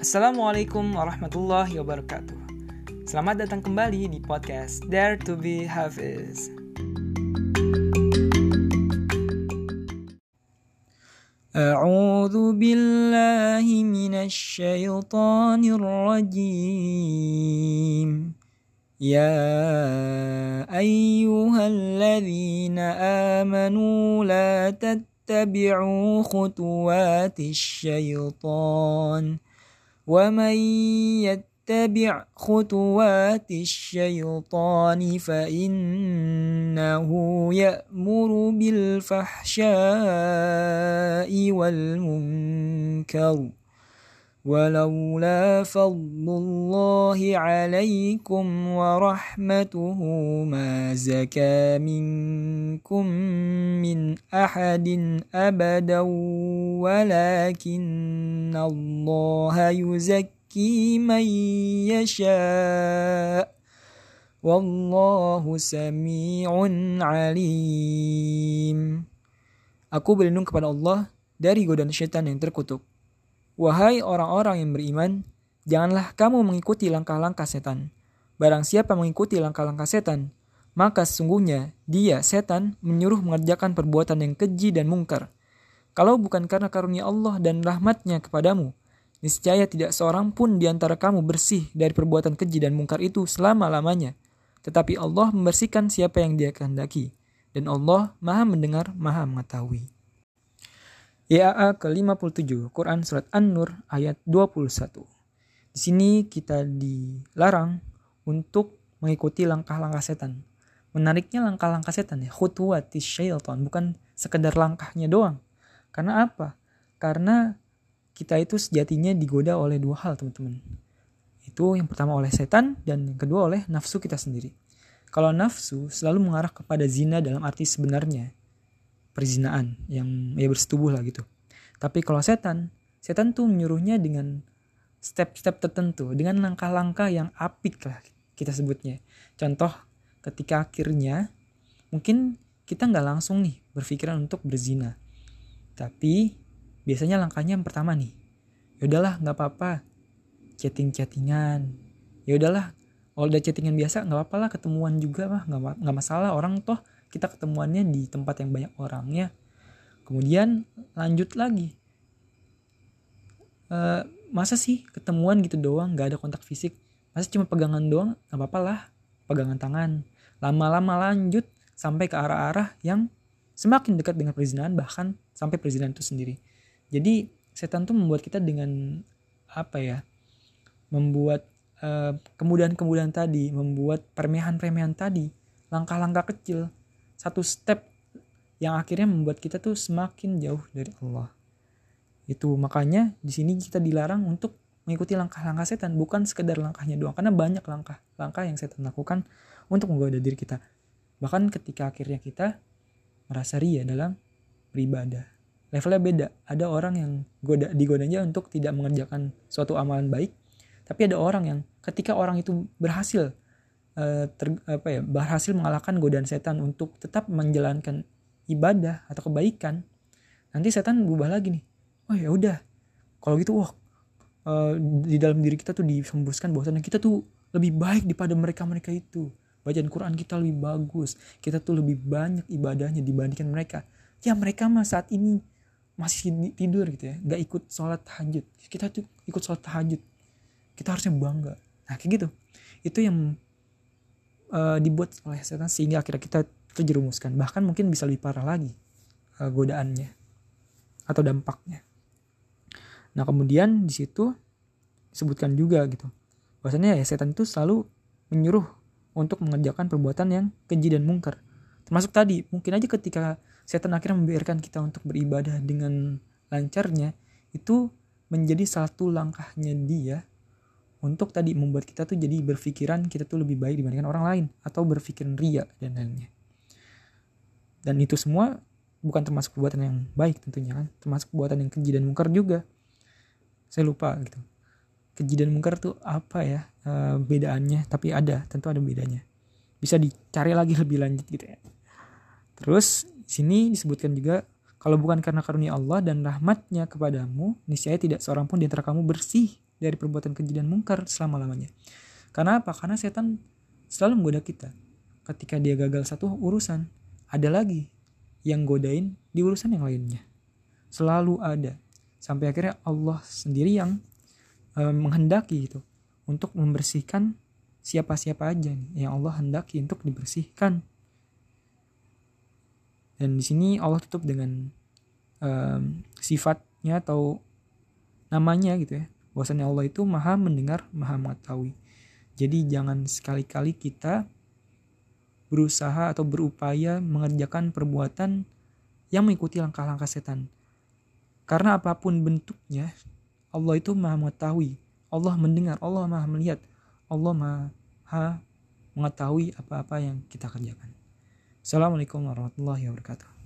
Assalamualaikum warahmatullahi wabarakatuh. Selamat datang kembali di podcast Dare to be Hafiz. A'udzu billahi minasy syaithanir rajim. Ya ayyuhalladzina amanu la tattabi'u khutuwatis syaitan. وَمَنْ يَتَّبِعْ خُطُوَاتِ الشَّيْطَانِ فَإِنَّهُ يَأْمُرُ بِالْفَحْشَاءِ وَالْمُنكَرِ وَلَوْلَا فَضْلُ اللَّهِ عَلَيْكُمْ وَرَحْمَتُهُ مَا زَكَى مِنْكُمْ مِنْ أَحَدٍ أَبَدًا وَلَكِنَّ اللَّهَ يُزَكِّي مَنْ يَشَاءُ وَاللَّهُ سَمِيعٌ عَلِيمٌ. Aku berlindung kepada Allah dari godaan syaitan yang terkutuk. Wahai orang-orang yang beriman, janganlah kamu mengikuti langkah-langkah setan. Barang siapa mengikuti langkah-langkah setan, maka sesungguhnya dia, setan, menyuruh mengerjakan perbuatan yang keji dan mungkar. Kalau bukan karena karunia Allah dan rahmatnya kepadamu, niscaya tidak seorang pun di antara kamu bersih dari perbuatan keji dan mungkar itu selama-lamanya. Tetapi Allah membersihkan siapa yang dia kehendaki. Dan Allah Maha Mendengar, Maha Mengetahui. YAA ke-57, Quran Surat An-Nur ayat 21. Di sini kita dilarang untuk mengikuti langkah-langkah setan. Menariknya langkah-langkah setan ya, khutuwatis syaitan, bukan sekedar langkahnya doang. Karena apa? Karena kita itu sejatinya digoda oleh dua hal, teman-teman. Itu yang pertama oleh setan dan yang kedua oleh nafsu kita sendiri. Kalau nafsu selalu mengarah kepada zina dalam arti sebenarnya, perzinaan yang bersetubuh lah gitu. Tapi kalau setan tuh menyuruhnya dengan step-step tertentu, dengan langkah-langkah yang apik lah kita sebutnya. Contoh ketika akhirnya mungkin kita nggak langsung nih berpikiran untuk berzina, tapi biasanya langkahnya yang pertama nih, yaudahlah nggak apa-apa chattingan, yaudahlah kalau udah chattingan biasa nggak apa-apa lah, ketemuan juga mah nggak masalah, orang toh kita ketemuannya di tempat yang banyak orangnya. Kemudian lanjut lagi, masa sih ketemuan gitu doang, gak ada kontak fisik, masa cuma pegangan doang, gak apa-apa lah pegangan tangan. Lama-lama lanjut sampai ke arah-arah yang semakin dekat dengan perzinahan, bahkan sampai perzinahan itu sendiri. Jadi setan tuh membuat kita dengan membuat kemudahan-kemudahan tadi, membuat permehan-permehan tadi, langkah-langkah kecil, satu step yang akhirnya membuat kita tuh semakin jauh dari Allah. Itu makanya di sini kita dilarang untuk mengikuti langkah-langkah setan, bukan sekedar langkahnya doang, karena banyak langkah yang setan lakukan untuk menggoda diri kita. Bahkan ketika akhirnya kita merasa ria dalam beribadah. Levelnya beda. Ada orang yang digodanya untuk tidak mengerjakan suatu amalan baik, tapi ada orang yang ketika orang itu berhasil berhasil mengalahkan godaan setan untuk tetap menjalankan ibadah atau kebaikan, nanti setan berubah lagi nih. Oh ya udah, kalau gitu di dalam diri kita tuh dihembuskan bahwasanya kita tuh lebih baik daripada mereka itu. Bacaan Quran kita lebih bagus, kita tuh lebih banyak ibadahnya dibandingkan mereka. Ya mereka mah saat ini masih tidur gitu ya, nggak ikut sholat tahajud. Kita tuh ikut sholat tahajud, kita harusnya bangga. Nah kayak gitu, itu yang dibuat oleh setan sehingga akhirnya kita terjerumuskan, bahkan mungkin bisa lebih parah lagi godaannya atau dampaknya. Nah kemudian di situ disebutkan juga gitu bahwasanya ya setan itu selalu menyuruh untuk mengerjakan perbuatan yang keji dan mungkar, termasuk tadi mungkin aja ketika setan akhirnya membiarkan kita untuk beribadah dengan lancarnya, itu menjadi satu langkahnya dia untuk tadi membuat kita tuh jadi berpikiran kita tuh lebih baik dibandingkan orang lain, atau berpikiran ria dan lainnya. Dan itu semua bukan termasuk perbuatan yang baik tentunya kan, termasuk perbuatan yang keji dan mungkar juga. Saya lupa gitu, keji dan mungkar tuh apa ya bedaannya, tapi tentu ada bedanya. Bisa dicari lagi lebih lanjut gitu ya. Terus di sini disebutkan juga, kalau bukan karena karunia Allah dan rahmatnya kepadamu, niscaya tidak seorang pun di antara kamu bersih dari perbuatan keji dan mungkar selama-lamanya. Karena apa? Karena setan selalu menggoda kita. Ketika dia gagal satu urusan, ada lagi yang godain di urusan yang lainnya. Selalu ada. Sampai akhirnya Allah sendiri yang menghendaki itu untuk membersihkan siapa-siapa aja nih yang Allah hendaki untuk dibersihkan. Dan di sini Allah tutup dengan sifatnya atau namanya gitu ya, bahwasanya Allah itu maha mendengar, maha mengetahui. Jadi jangan sekali-kali kita berusaha atau berupaya mengerjakan perbuatan yang mengikuti langkah-langkah setan. Karena apapun bentuknya, Allah itu maha mengetahui, Allah mendengar, Allah maha melihat, Allah maha mengetahui apa-apa yang kita kerjakan. Assalamualaikum warahmatullahi wabarakatuh.